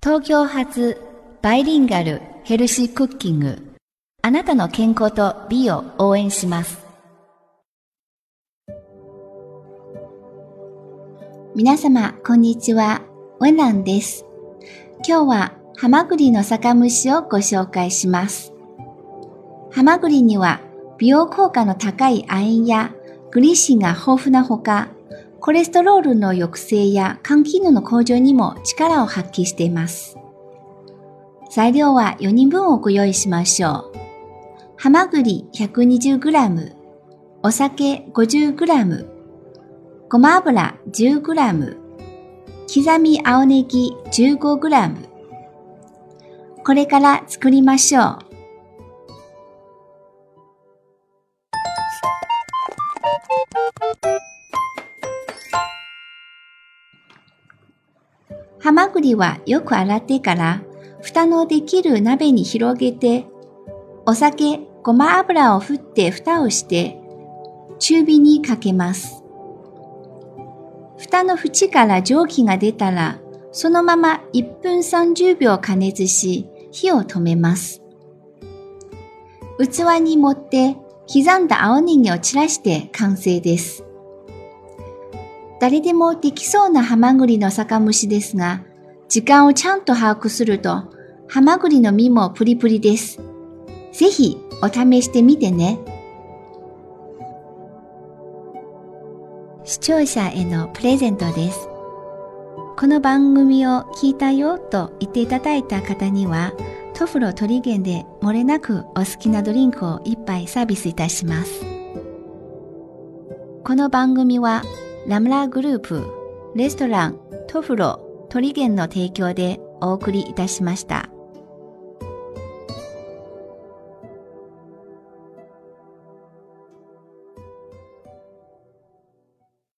東京発バイリンガルヘルシークッキング。あなたの健康と美を応援します。皆様、こんにちは。ウェナンです。今日はハマグリの酒蒸しをご紹介します。ハマグリには美容効果の高い亜鉛やグリシンが豊富なほか、コレステロールの抑制や肝機能の向上にも力を発揮しています。材料は4人分をご用意しましょう。ハマグリ 120g、お酒 50g、ごま油 10g、刻み青ネギ 15g。これから作りましょう。ハマグリはよく洗ってから、蓋のできる鍋に広げて、お酒、ごま油を振って蓋をして、中火にかけます。蓋の縁から蒸気が出たら、そのまま1分30秒加熱し、火を止めます。器に盛って、刻んだ青ネギを散らして完成です。誰でもできそうなハマグリの酒蒸しですが、時間をちゃんと把握すると、ハマグリの身もプリプリです。ぜひお試してみてね。視聴者へのプレゼントです。この番組を聞いたよと言っていただいた方には、トフロトリゲンで漏れなくお好きなドリンクを一杯サービスいたします。この番組は、ラムラグループ、レストラン、トフロ、トリゲンの提供でお送りいたしました。